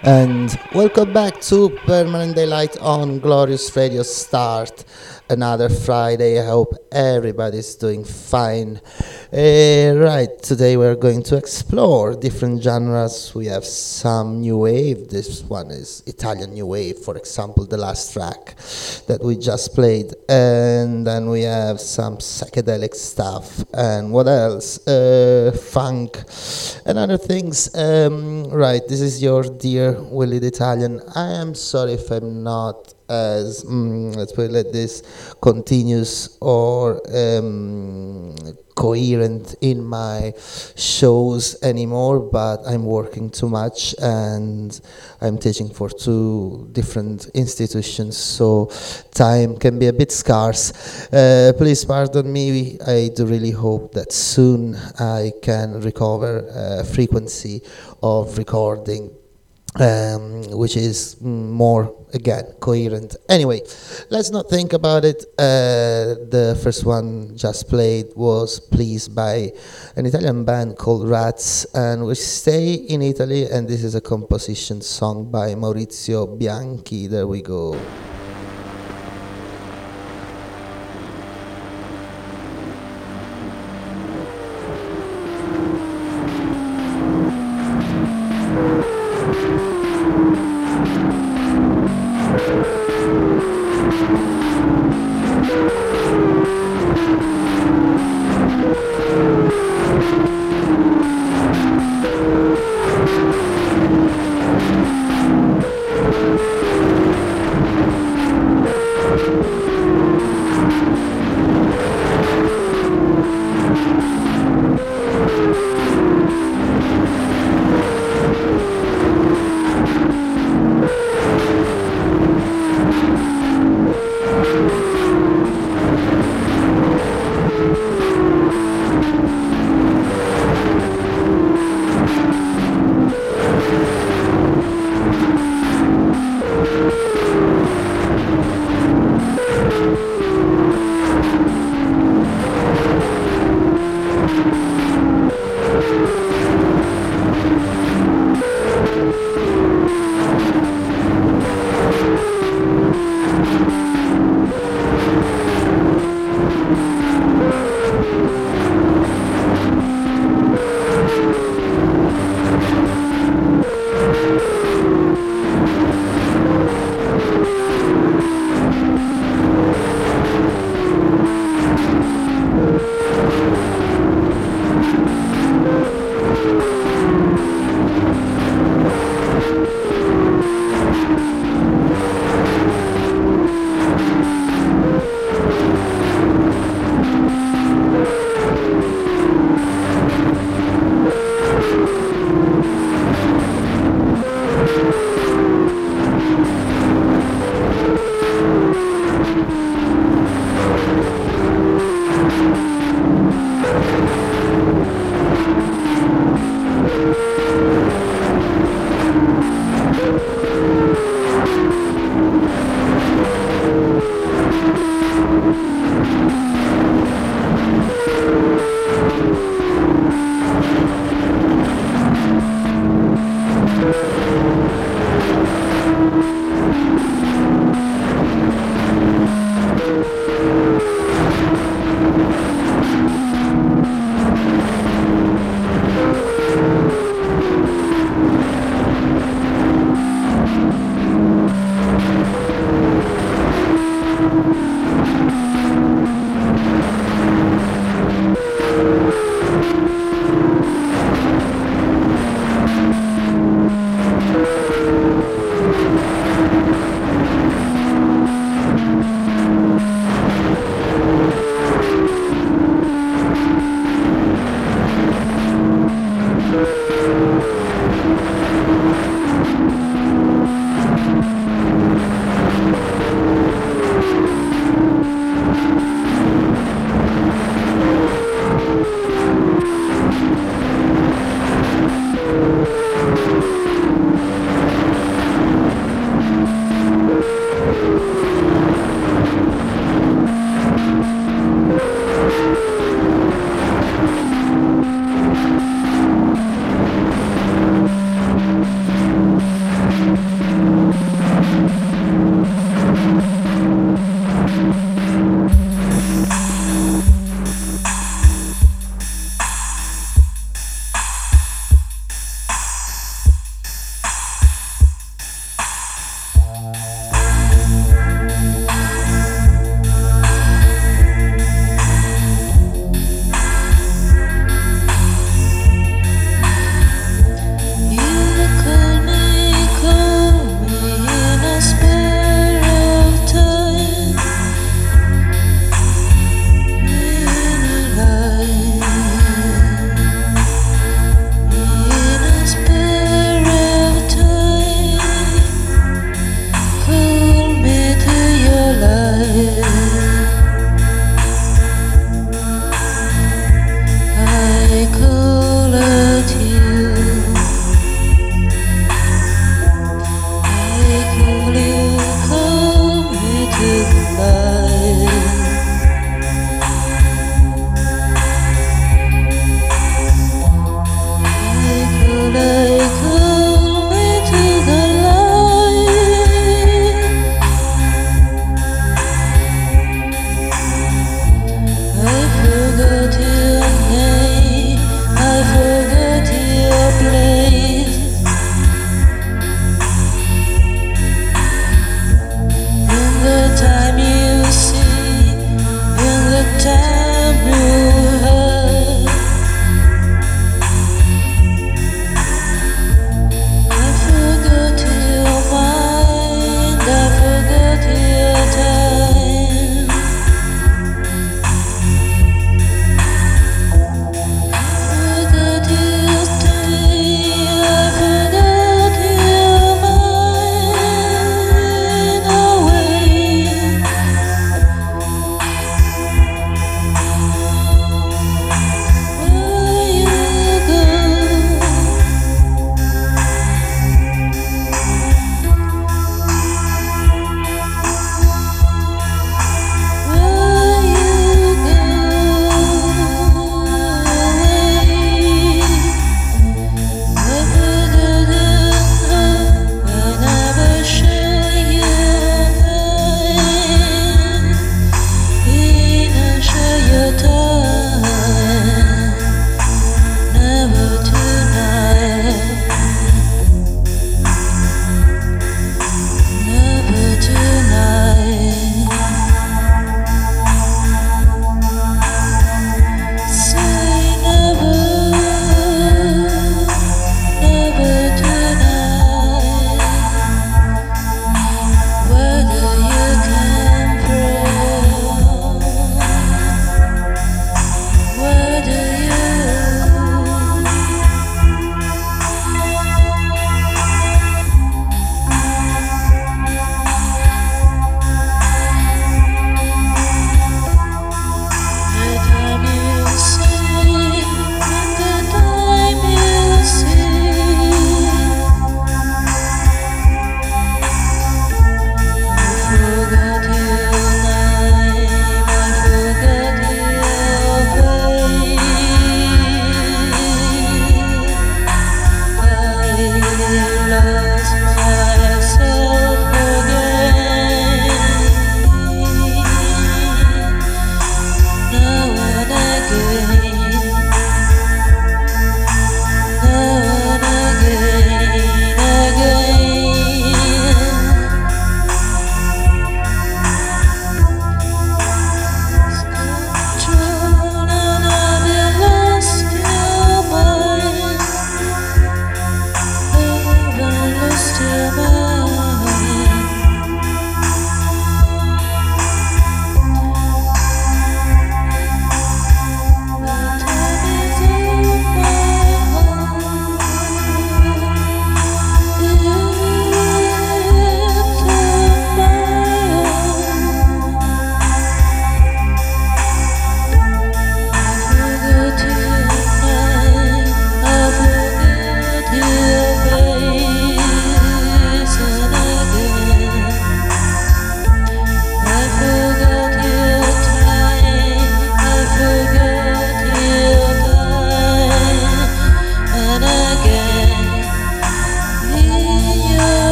And welcome back to Permanent Daylight on Glorious Radio Start. Another Friday. I hope everybody's doing fine. Right, today we're going to explore different genres. We have some new wave. This one is Italian new wave, for example, the last track that we just played. And then we have some psychedelic stuff. And what else? Funk and other things. Right, this is your dear Willie the Italian. I am sorry if I'm not as let's put it like this, continuous or coherent in my shows anymore, but I'm working too much and I'm teaching for two different institutions, so time can be a bit scarce. Please pardon me. I do really hope that soon I can recover frequency of recording, which is more, again, coherent. Anyway, let's not think about it. The first one just played was Pleased by an Italian band called Rats, and we stay in Italy, and this is a composition song by Maurizio Bianchi. There we go.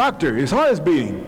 Doctor, his heart is beating.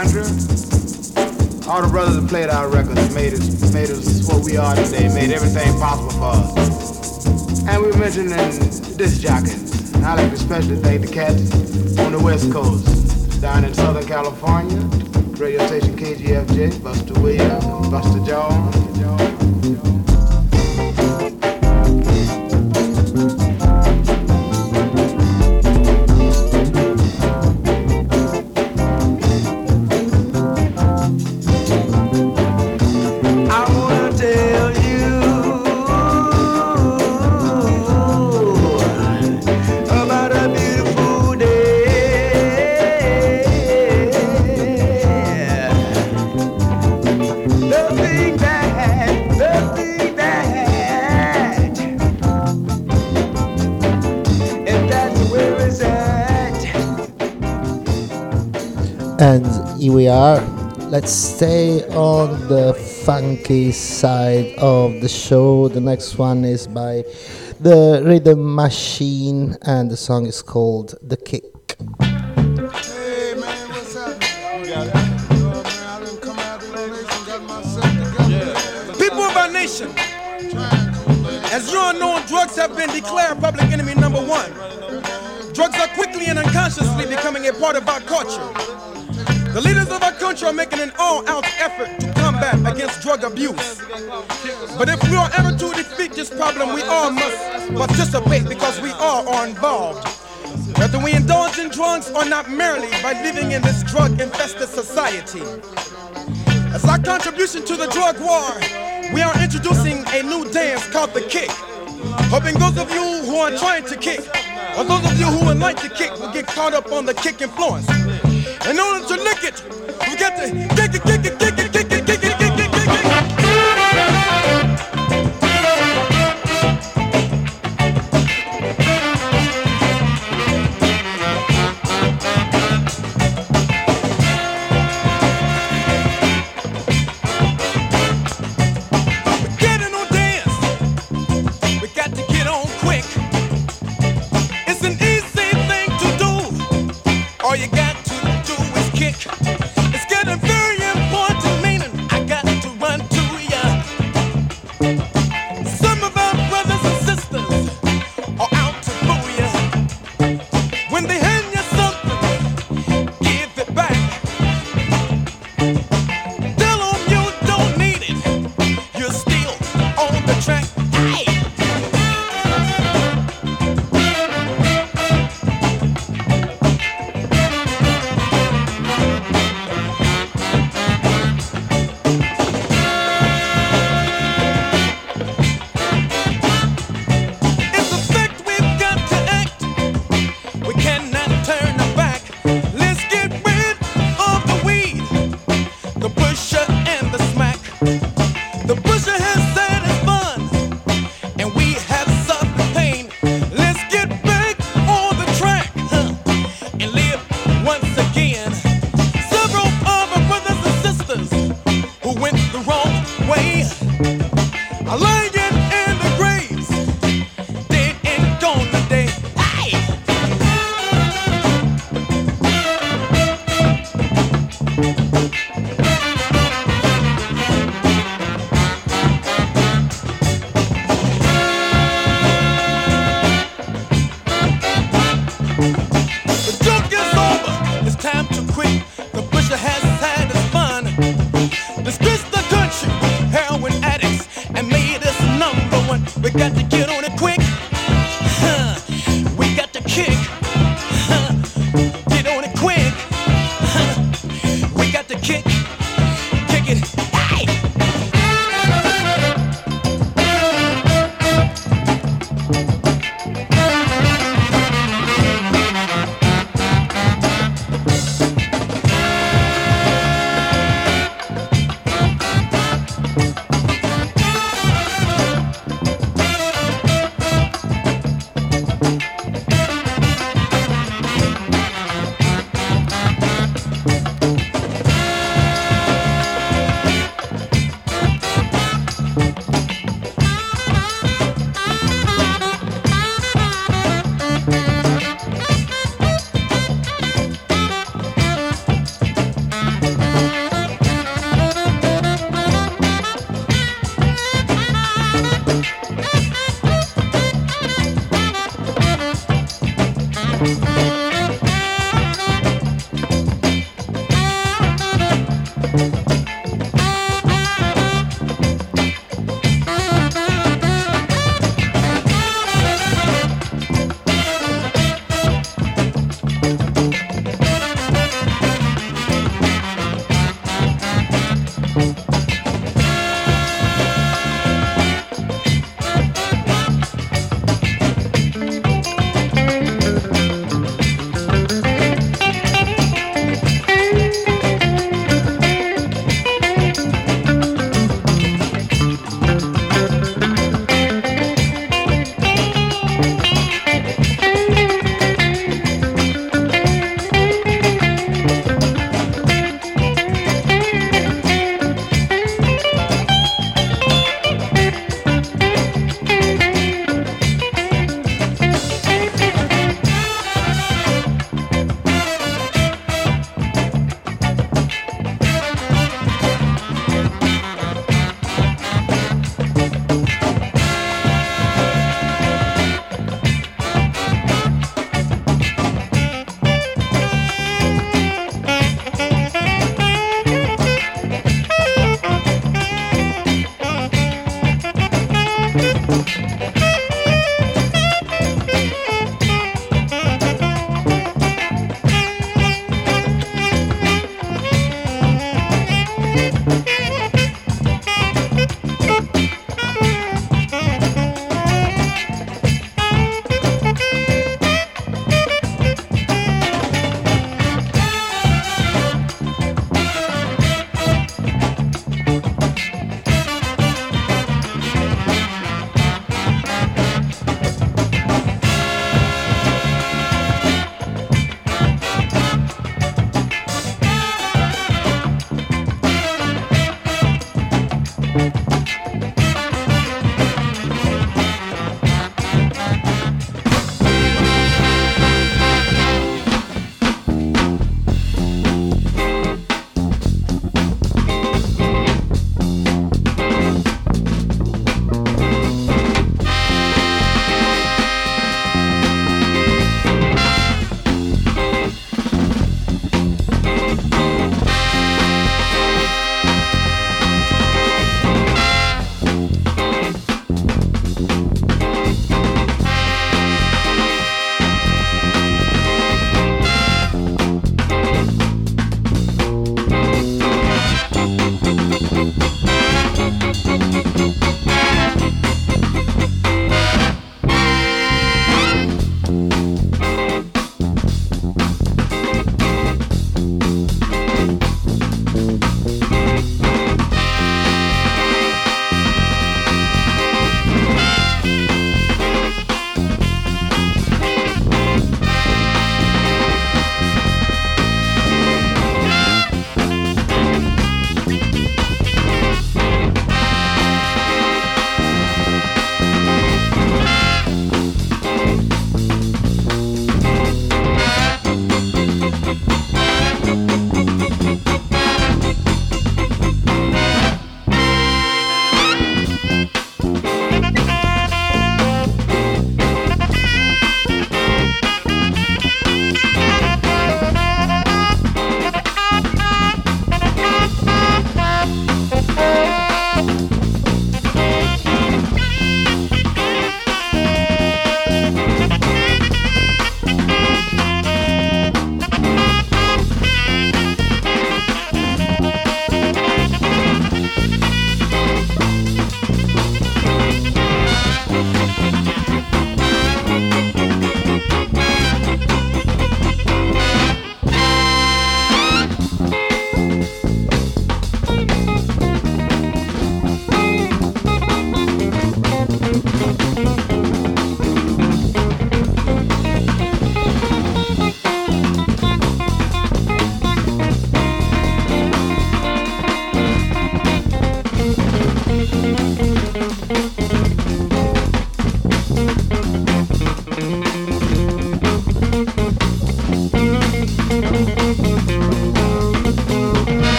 country. All the brothers that played our records made us what we are today, made everything possible for us. And we mentioned in disc jockeys. And I like to especially thank the cats on the West Coast, down in Southern California, radio station KGFJ, Buster Williams, Buster Jones. And here we are. Let's stay on the funky side of the show. The next one is by the Rhythm Machine, and the song is called The Kick. Hey man, what's happening? You got it. Man, I done come out of the nation, got myself together. People of our nation, as you all know, drugs have been declared public enemy number one. Drugs are quickly and unconsciously becoming a part of our culture. The leaders of our country are making an all-out effort to combat against drug abuse. But if we are ever to defeat this problem, we all must participate because we all are involved. Whether we indulge in drugs or not, merely by living in this drug-infested society. As our contribution to the drug war, we are introducing a new dance called the kick. Hoping those of you who are trying to kick, or those of you who would like to kick, will get caught up on the kick influence. In order to lick it, we got to kick it, kick it, kick it, kick it, kick it, kick it, kick it. We're getting on dance. We got to get on quick. It's an easy thing to do. All you got to do is kick. It's getting very important, meaning I got to run to ya. Some of our brothers and sisters are out to boo ya. When they hand you something, give it back. Tell them you don't need it. You're still on the track. Hey! It's a fact we've got to act. We cannot turn our back. Let's get rid of the weed, the pusher and the smack. The pusher has had his fun, and we have suffered pain. Let's get back on the track, and live once again. Several of our brothers and sisters who went the wrong way are lying in the graves, dead and gone today. Hey! The joke is over, it's time to quit. The pusher has had his fun. Disgraced the country, heroin addicts, and made us number one. We got to get on it quick. We got to kick. Get on it quick. We got to kick. Kick it. Hey!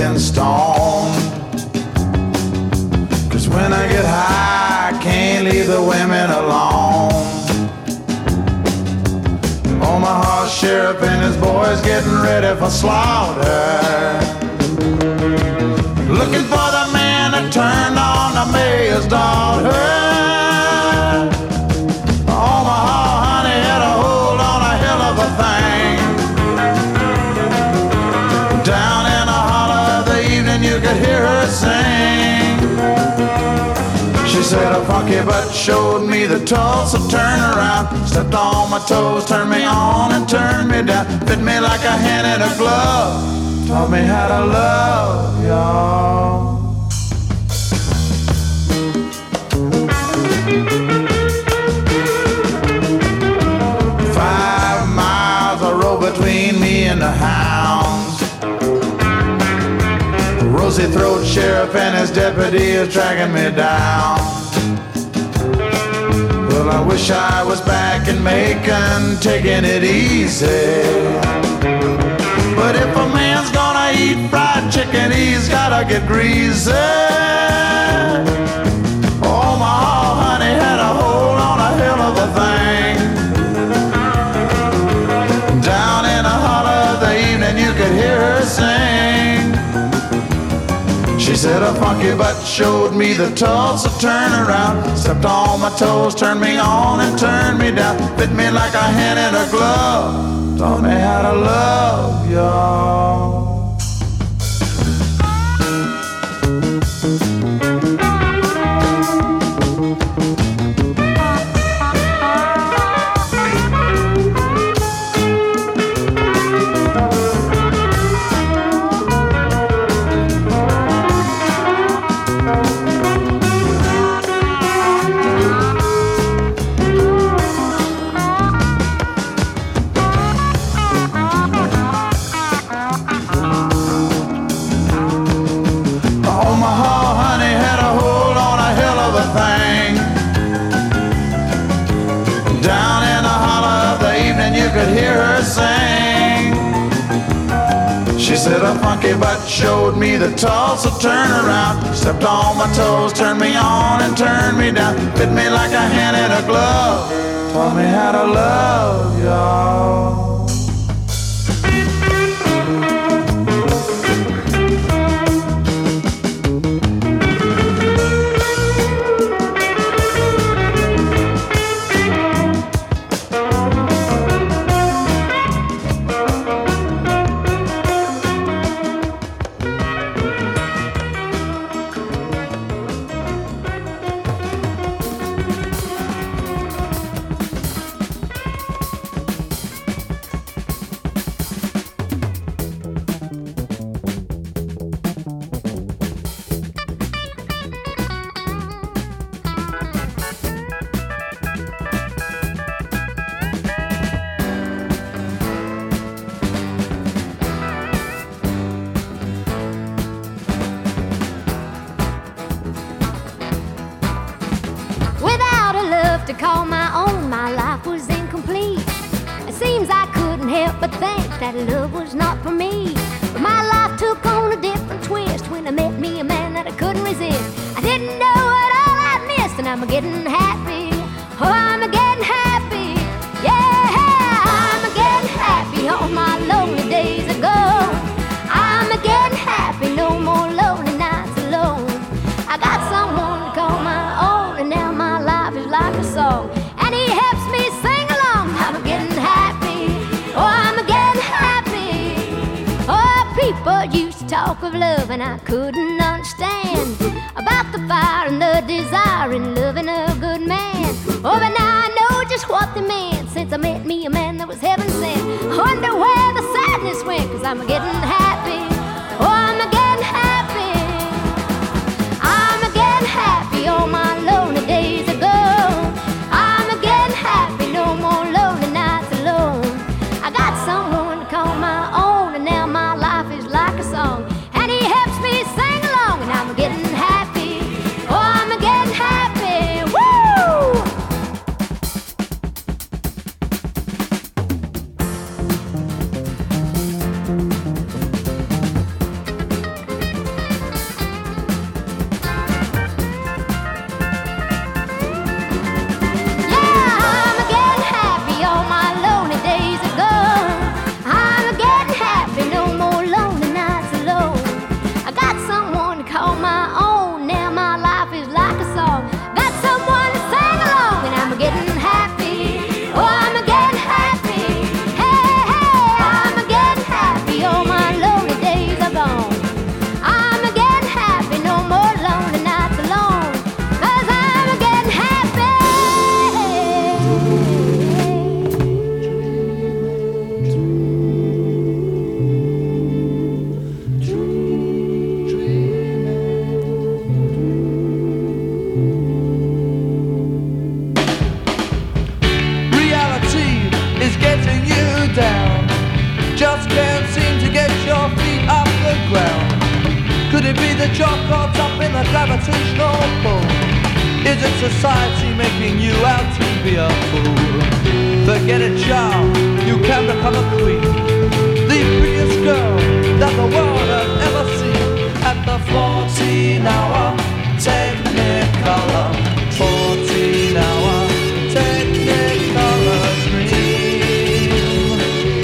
getting stoned. 'Cause when I get high, I can't leave the women alone. Omaha sheriff and his boys getting ready for slaughter. Looking for the man that turned on the mayor's daughter. Omaha honey had a hold on a hell of a thing. Down in the hollow of the evening you could hear her sing. She said a funky butt showed me the Tulsa turnaround. Stepped on my toes, turned me on and turned me down. Fit me like a hand in a glove. Taught me how to love, y'all. Between me and the hounds, Rosy Throat Sheriff and his deputy is dragging me down. Well, I wish I was back in Macon, taking it easy. But if a man's gonna eat fried chicken, he's gotta get greasy. Omaha honey had a hold on a hell of a thing. Down in the hollow of the evening you could hear her sing. She said a funky butt showed me the Tulsa turnaround. Stepped on my toes, turned me on and turned me down. Fit me like a hand in a glove. Taught me how to love, y'all. Said a funky butt showed me the Tulsa turnaround. Stepped on my toes, turned me on and turned me down. Fit me like a hand in a glove. Taught me how to love, y'all. To call my own, my life was incomplete. It seems I couldn't help but think that love was not for me. But my life took on a different twist when I met me a man that I couldn't resist. I didn't know what all I'd missed, and I'm getting happy. Oh, I'm getting happy. Yeah, I'm getting happy. All my lonely days are gone. I'm getting happy. No more lonely nights alone. I got someone to call my own, and now my life is like a song, and he helps me sing along. I'm getting happy. Oh, I'm getting happy. Oh, people used to talk of love, and I couldn't understand about the fire and the desire in loving a good man. Oh, but now I know just what they meant since I met me a man that was heaven sent. I wonder where the sadness went, 'cause I'm getting happy. Oh, I'm getting happy. I'm getting happy. All my lonely days are gone. I'm getting happy. No more lonely nights alone. I got someone to call my own, and now my life is like a song, and he helps me sing along, and I'm getting happy. Oh, I'm getting happy. Woo! Could it be the job caught up in a gravitational pull? Is it society making you out to be a fool? Forget it, child, you can become a queen, the prettiest girl that the world has ever seen. At the 14-hour Technicolor, 14-hour Technicolor dream.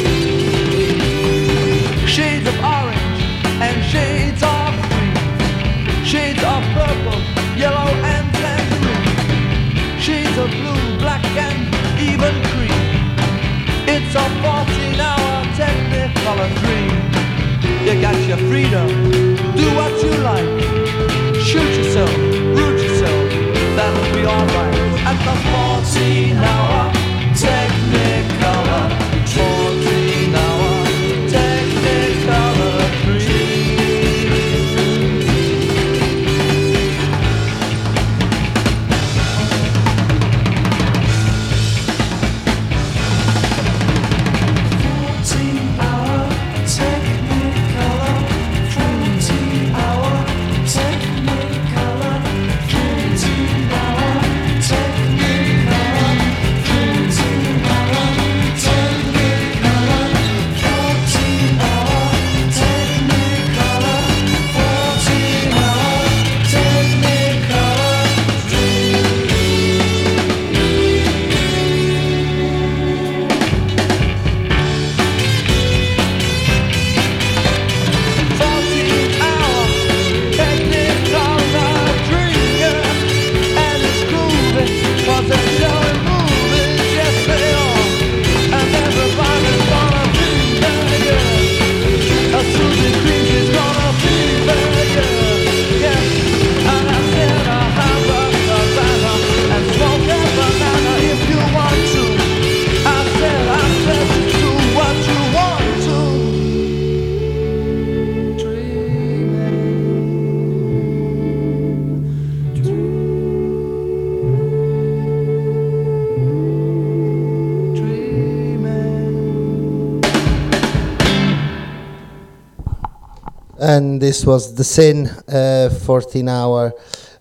Shades of orange and shades of green, shades of purple, yellow and tangerine, shades of blue, black and even cream. It's a 14-hour Technicolor dream. You got your freedom, do what you like, shoot yourself, root yourself, that'll be alright. At the 14-hour Technicolor, 14-hour Technicolor dream. And this was the Sin 14-hour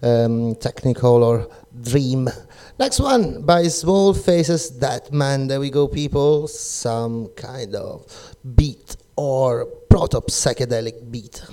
Technicolor Dream. Next one by Small Faces, That Man. There we go, people. Some kind of beat or proto-psychedelic beat.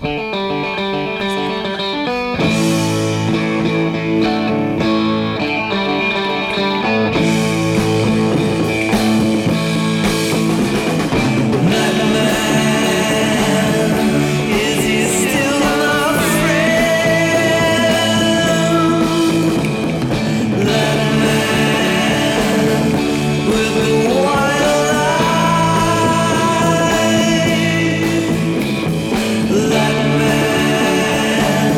That man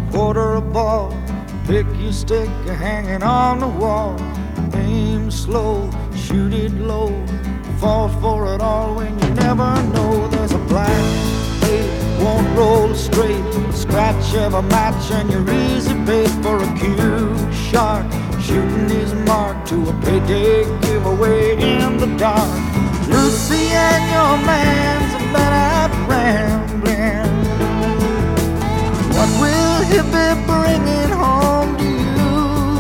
quarter a ball. Pick your stick, you're hanging on the wall. Aim slow, shoot it low. Fall for it all when you never know. There's a black eight, won't roll straight. Scratch every match and you're easy bait for a cue shark. Shooting his mark to a payday giveaway in the dark. Lucy and your man's a been out rambling. What will he be bringing home to you?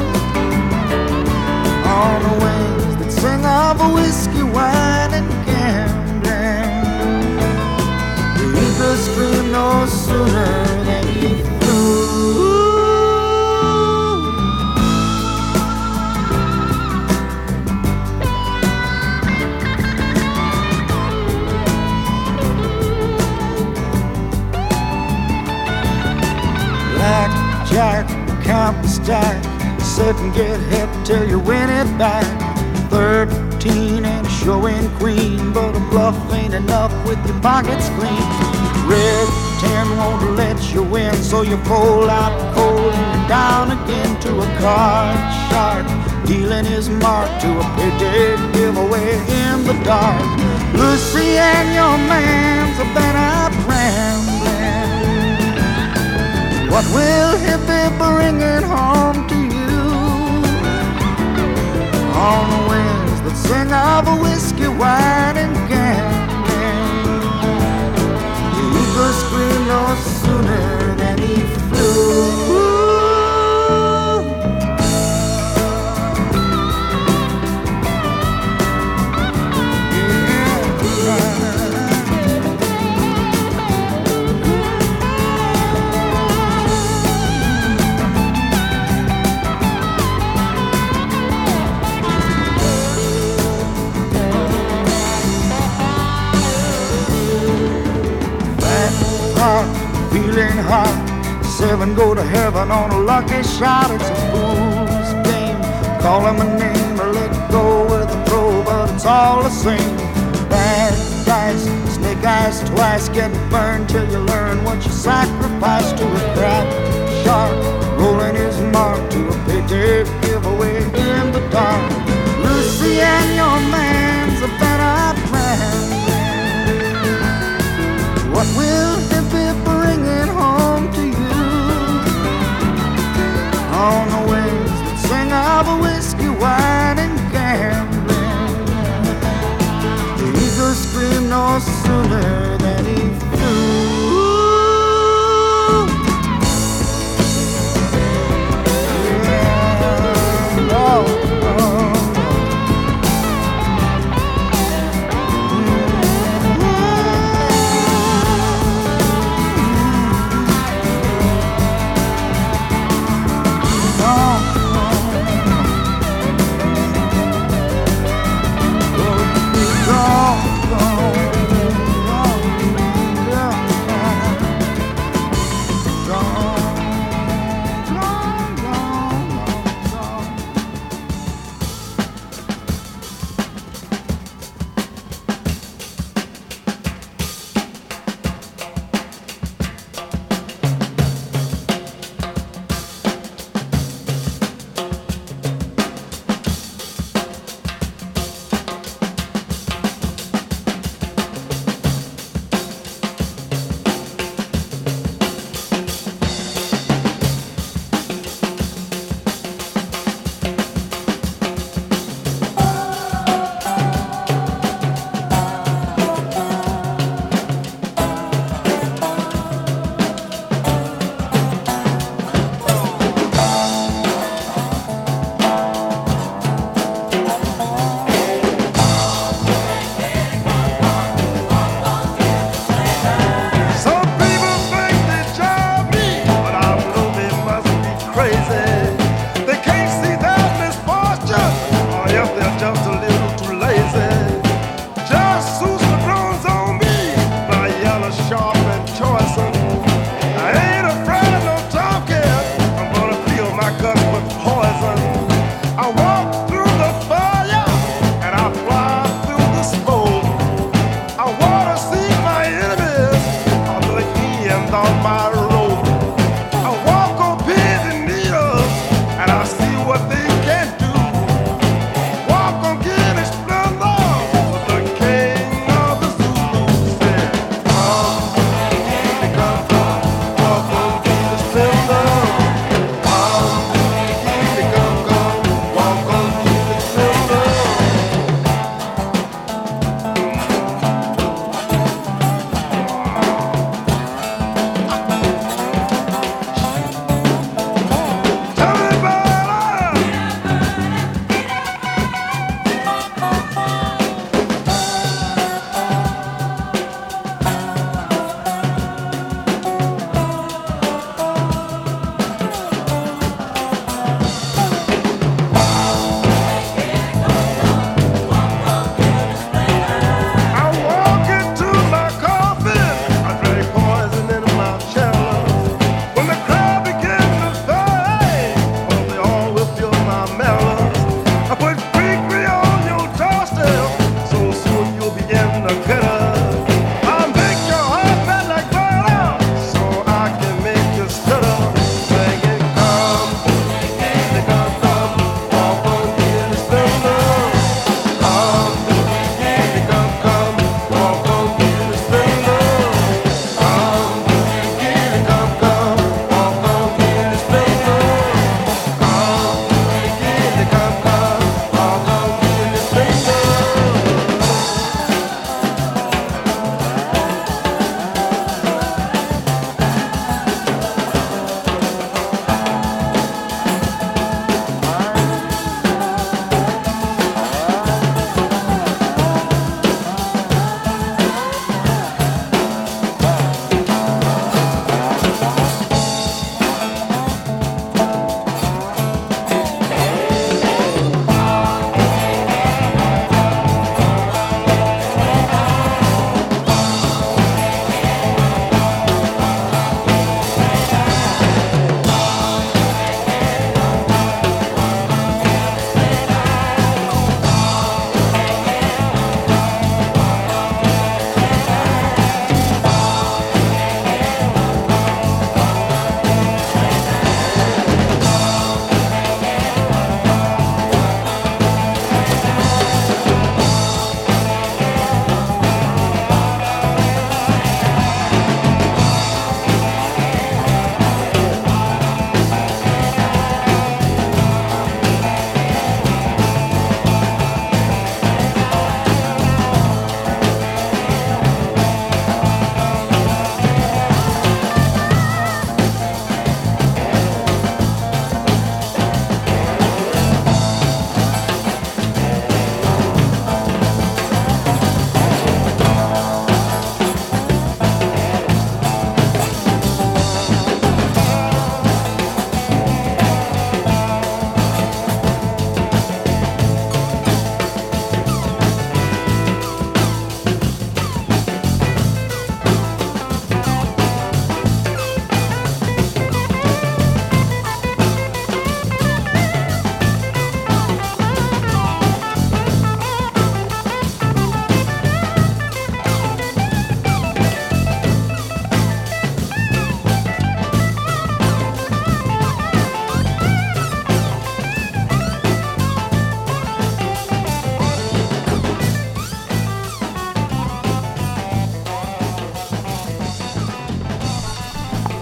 On the wings that sing of a whiskey, wine, and gambling. The eagle screamed no sooner than he flew. Blackjack, count the stack. Sit and get hit till you win it back. 13 and showing queen, but a bluff ain't enough with your pockets clean. Red 10 won't let you win, so you fold out cold and you're down again to a card shark. Dealing his mark to a payday giveaway in the dark. Lucy and your man's a been out rambling. What will he be bringing home to you? On the wings that sing of a whiskey, wine, and gambling. The eagle screamed no sooner than he flew. Feeling hot, 7 go to heaven on a lucky shot. It's a fool's game. Call him a name or let go with a throw, but it's all the same. Bad dice, snake eyes twice, get burned till you learn what you sacrifice to a crap shark. Rolling his mark to a payday giveaway in the dark. Lucy and your man's a better plan. What will he be bringing home to you? On the wings that sing of a whiskey, wine, and gambling. The eagle screamed no sooner than he flew. Yeah.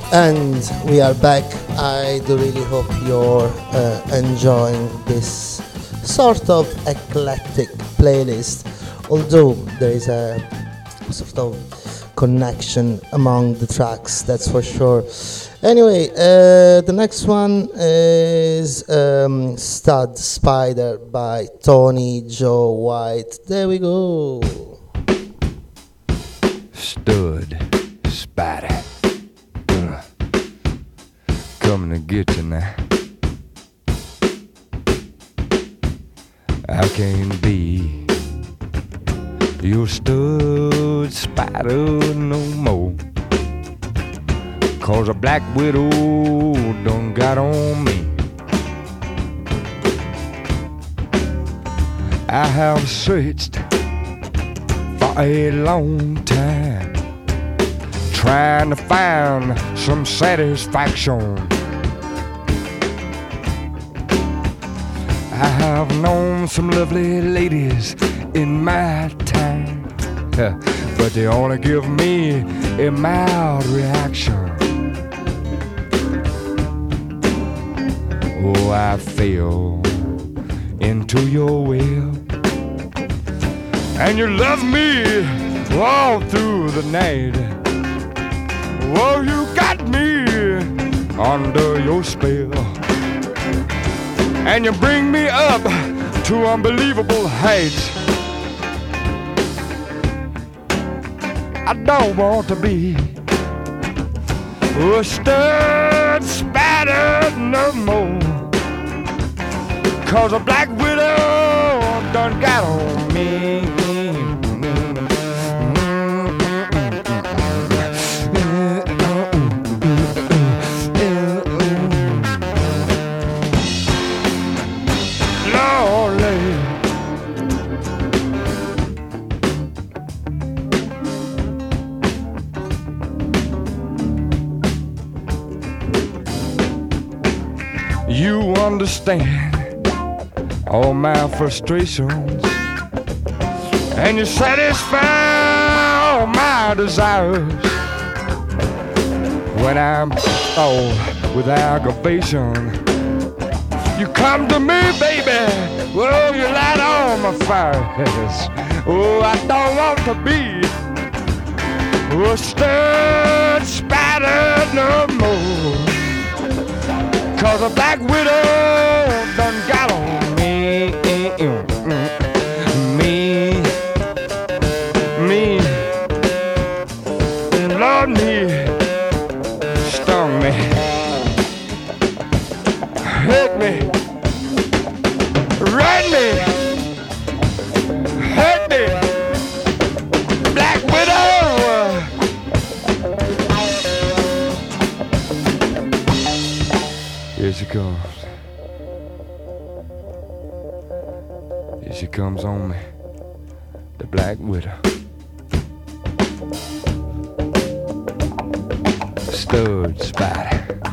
And we are back. I do really hope you're enjoying this sort of eclectic playlist, although there is a sort of connection among the tracks, that's for sure. Anyway, the next one is Stud Spider by Tony Joe White. There we go. Stud Spider. Coming to get you now. I can't be your stud spider no more, 'cause a black widow done got on me. I have searched for a long time, trying to find some satisfaction. I have known some lovely ladies in my time, but they only give me a mild reaction. Oh, I fell into your web, and you love me all through the night. Oh, you got me under your spell, and you bring me up to unbelievable heights. I don't want to be a stud spider no more, 'cause a black widow done got on me. You understand all my frustrations, and you satisfy all my desires. When I'm all with aggravation, you come to me, baby. Oh, you light on my fires. Oh, I don't want to be a stud spider no more, 'cause a black widow done got on me. Me. Lord, me. Stung me. Hurt me. Run me. Hurt me. Black widow. Here she comes. Here she comes on me, the black widow. Stud spider.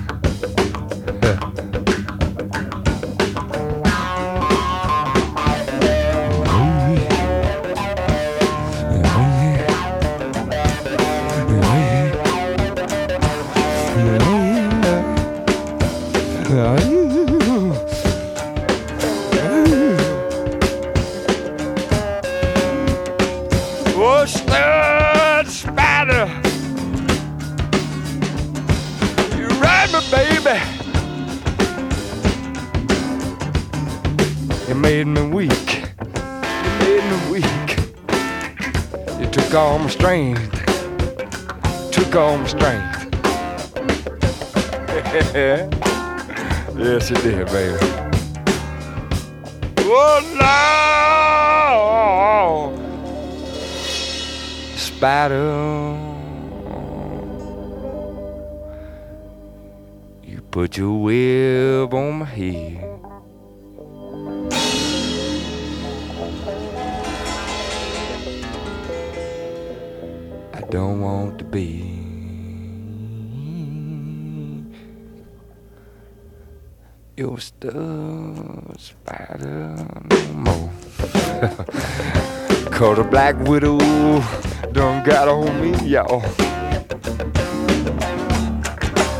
Oh, stud spider, you ride me, baby. You made me weak. You made me weak. You took all my strength. Took all my strength. Yes, you did, baby. Oh, no! Spider, you put your web on my head. I don't want to be your stud spider no more. 'Cause a black widow done got on me, y'all.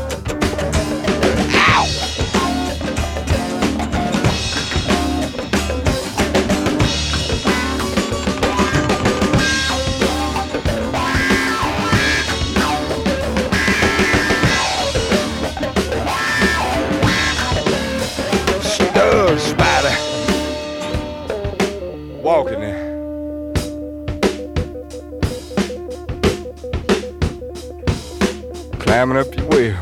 slamming up your wheel.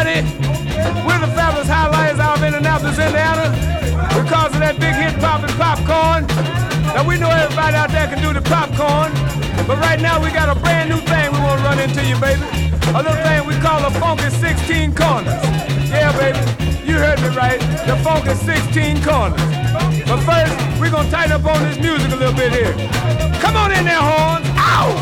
everybody. We're the Fabulous Highlighters out of Indianapolis, Indiana. Because of that big hit, Poppin' Popcorn. Now we know everybody out there can do the popcorn. But right now we got a brand new thing we want to run into you, baby. A little thing we call a funky 16 corners. Yeah, baby, you heard me right. The funky 16 corners. But first, we're going to tighten up on this music a little bit here. Come on in there, horns. Ow!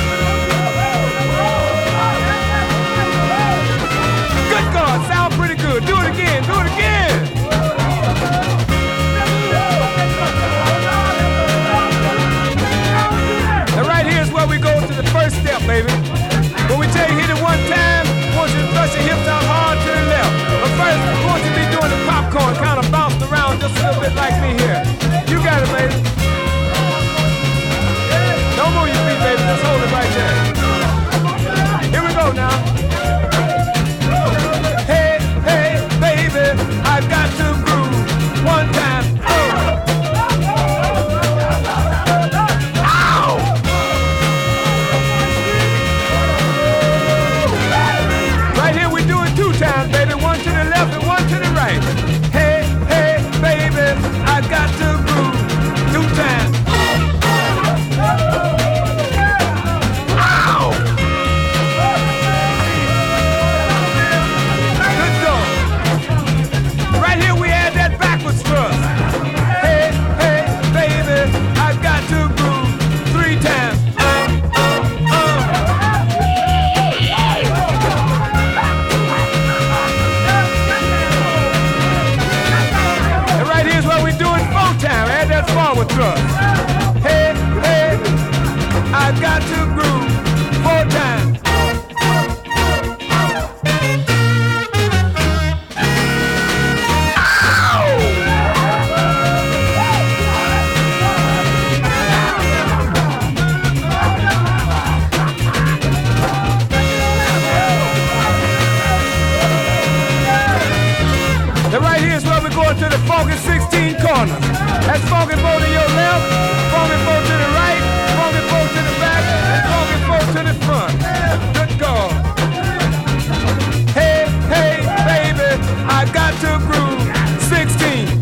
Good God, sound pretty good. Do it again, do it again. And right here is where we go to the first step, baby. When we tell you hit it one time, we want you to thrust your hips out hard to the left. But first, we want you to be doing the popcorn, kind of bounced around just a little bit like me here. You got it, baby. Don't move your feet, baby. Just hold it right there. Here we go now. Hey, hey, baby, I've got to groove one time. Baby, one to the left and one to the right. Hey, hey, baby, I got to groove 2 times. Ow! Good dog. Right here we add that backwards thrust. Hey, hey, baby, I got to groove 3 times. Forward thrust. Hey, hey, I got to groove 4 times. And right here is where we're going to the funky 16 corners. That's funky four to your left, funky four to the right, funky four to the back, and funky four to the front. Good God. Hey, hey, baby, I got to groove 16.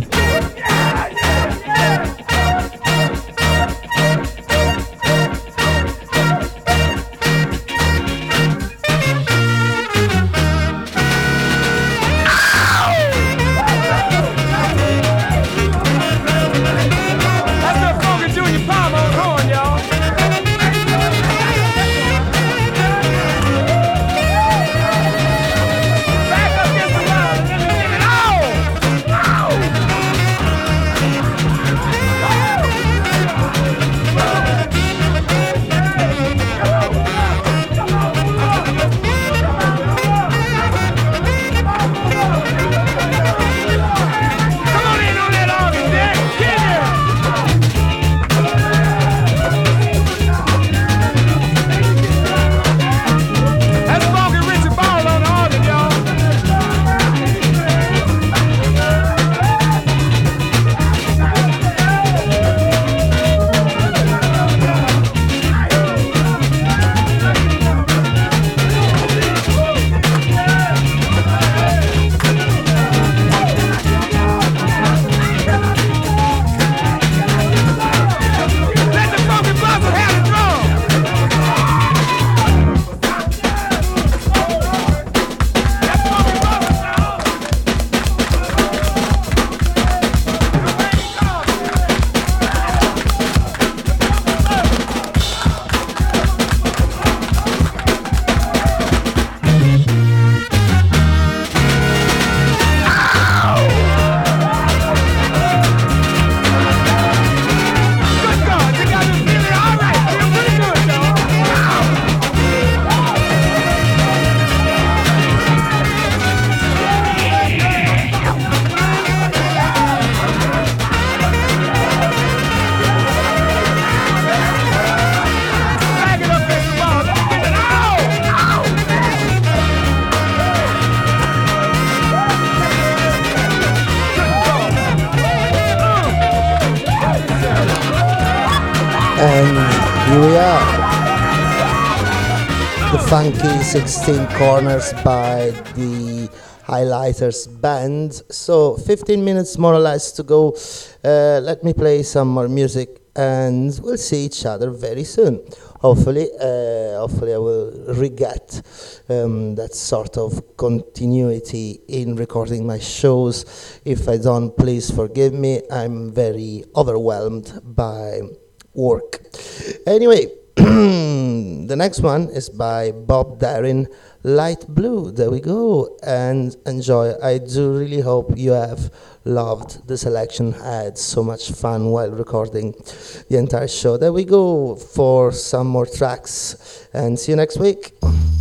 funky 16 Corners by the Highlighters band. So 15 minutes more or less to go. Let me play some more music and we'll see each other very soon. Hopefully I will re-get that sort of continuity in recording my shows. If I don't, please forgive me. I'm very overwhelmed by work. Anyway, the next one is by Bob Darin, Light Blue. There we go, and enjoy. I do really hope you have loved the selection. I had so much fun while recording the entire show. There we go for some more tracks, and see you next week.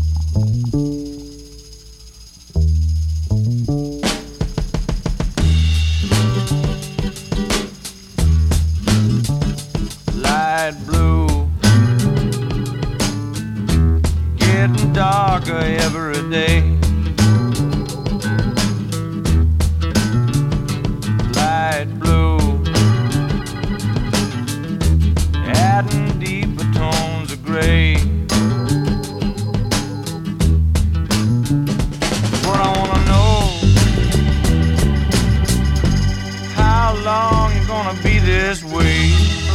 Light blue, getting darker every day. Light blue, adding deeper tones of gray. What I wanna know, how long you gonna be this way?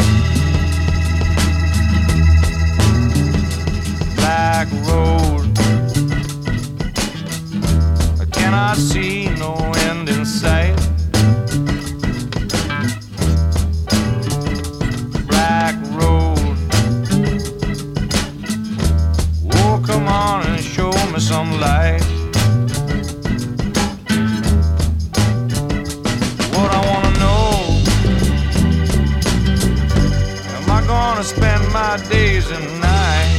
Black road, I cannot see no end in sight. Black road, oh come on and show me some light. What I wanna know, am I gonna spend my days and nights?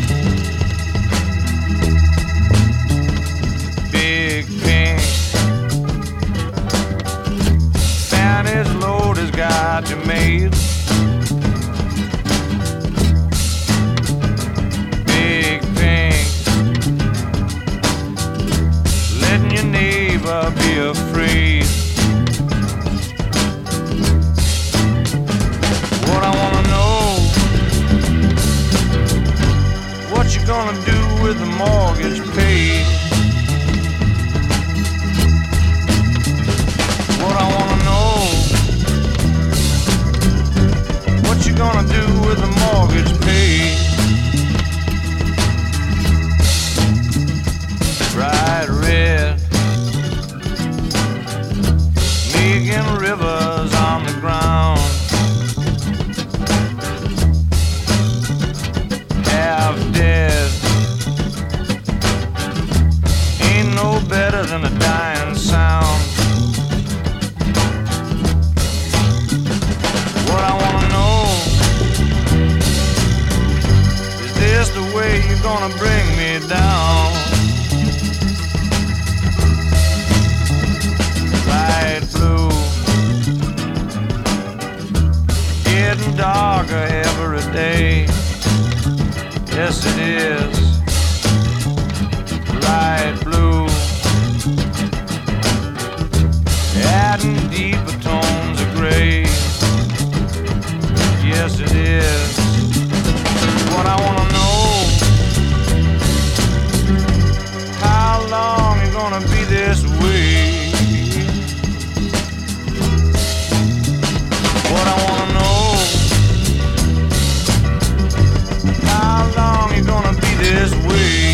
Big pink Fanny's load has got you made. Big pink, letting your neighbor be afraid. What I wanna know, what you gonna do with the mortgage paid? What I wanna know, what you gonna do with the mortgage paid? Bright red, making rivers on the ground. Half dead, ain't no better than a dying sound. What I wanna know, is this the way you're gonna bring me down? Light blue, getting darker every day. Yes it is. Light blue, adding deeper tones of gray. Yes it is. What I wanna know, how long you gonna be this way? What I wanna know, how long you gonna be this way?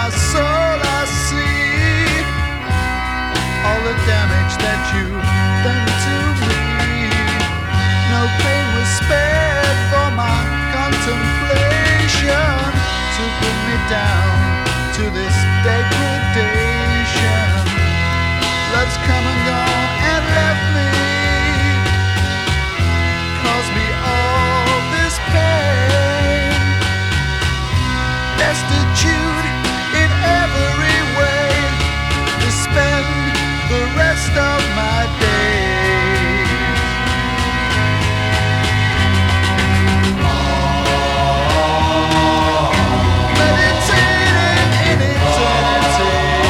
my soul I see all the damage that you've done to me. No pain was spared for my contemplation to bring me down to this degradation. Love's come and gone and left me, caused me all this pain, destitute in every way, to spend the rest of my days. Meditating in eternity.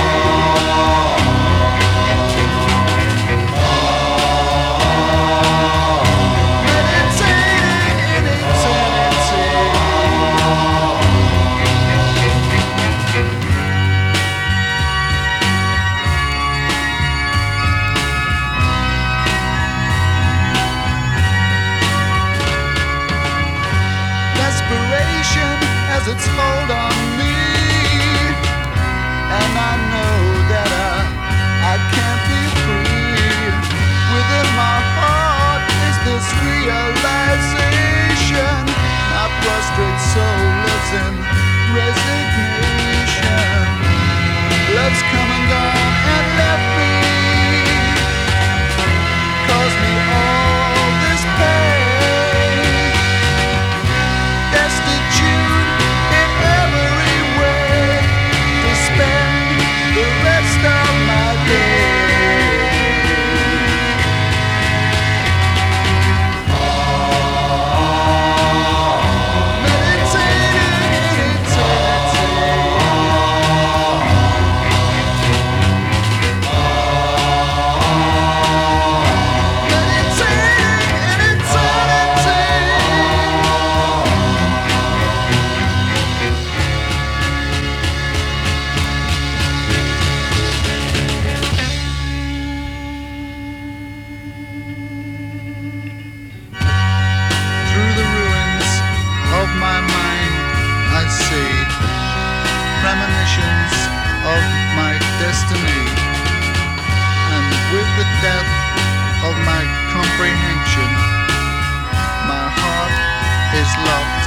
Its hold on me, and I know that I can't be free. Within my heart is this realization, my prostrate soul lives in resignation. Love's come and gone and left me, caused me all this pain, destitute every way, to spend the rest of my premonitions of my destiny, and with the death of my comprehension, my heart is locked